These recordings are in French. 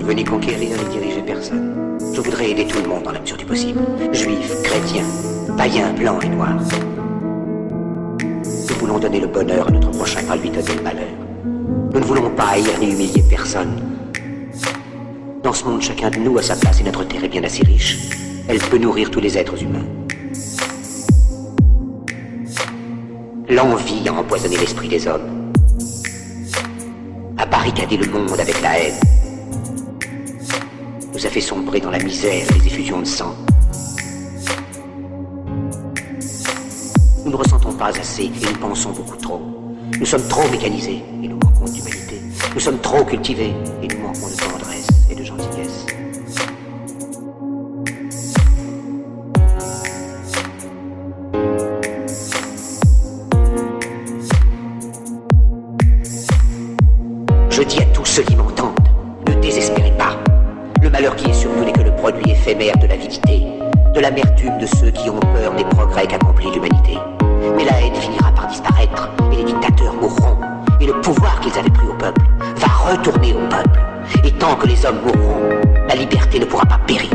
veux ni conquérir ni diriger personne. Je voudrais aider tout le monde dans la mesure du possible. Juifs, chrétiens, païens, blancs et noirs. Nous voulons donner le bonheur à notre prochain, pas lui donner le malheur. Nous ne voulons pas haïr ni humilier personne. Dans ce monde, chacun de nous a sa place et notre terre est bien assez riche. Elle peut nourrir tous les êtres humains. L'envie a empoisonné l'esprit des hommes, a barricadé le monde avec la haine, nous a fait sombrer dans la misère et les effusions de sang. Nous ne ressentons pas assez et nous pensons beaucoup trop. Nous sommes trop mécanisés et nous manquons d'humanité. Nous sommes trop cultivés et nous manquons de tendresse et de gentillesse. Je dis à tous ceux qui m'entendent, ne désespérez pas. Le malheur qui est sur nous n'est que le produit éphémère de l'avidité, de l'amertume de ceux qui ont peur des progrès qu'accomplit l'humanité. Mais la haine finira par disparaître, et les dictateurs mourront, et le pouvoir qu'ils avaient pris au peuple va retourner au peuple. Et tant que les hommes mourront, la liberté ne pourra pas périr.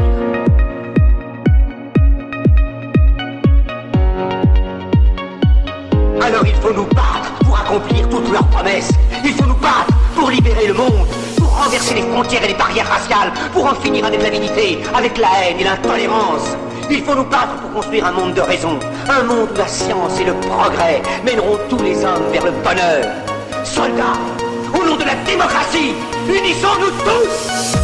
Alors il faut nous battre pour accomplir toutes leurs promesses. Il faut nous battre pour libérer le monde, pour renverser les frontières et les barrières raciales, pour en finir avec l'avidité, avec la haine et l'intolérance. Il faut nous battre pour construire un monde de raison, un monde où la science et le progrès mèneront tous les hommes vers le bonheur. Soldats, au nom de la démocratie, unissons-nous tous!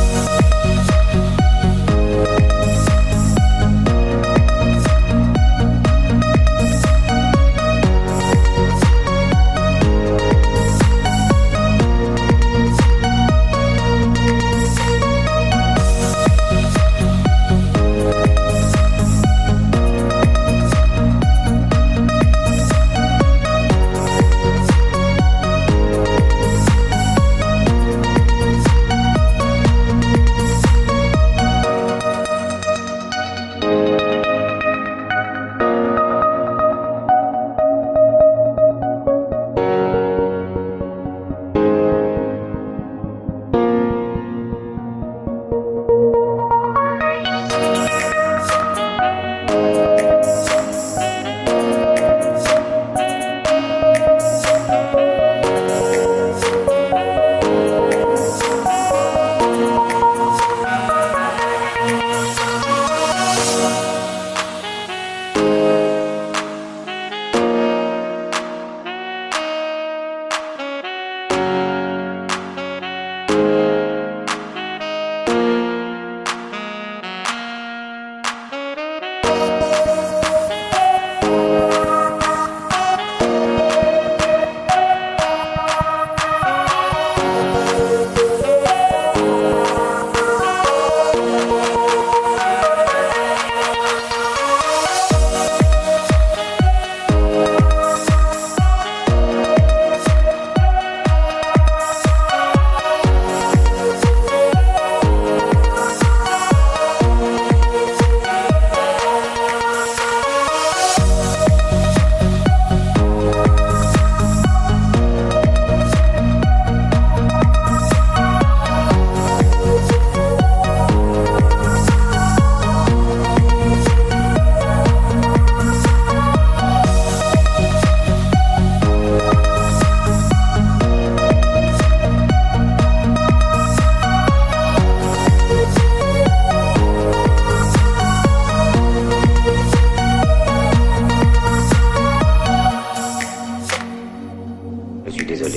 Je suis désolé,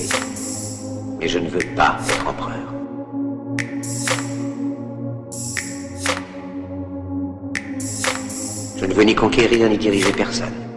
mais je ne veux pas être empereur. Je ne veux ni conquérir ni diriger personne.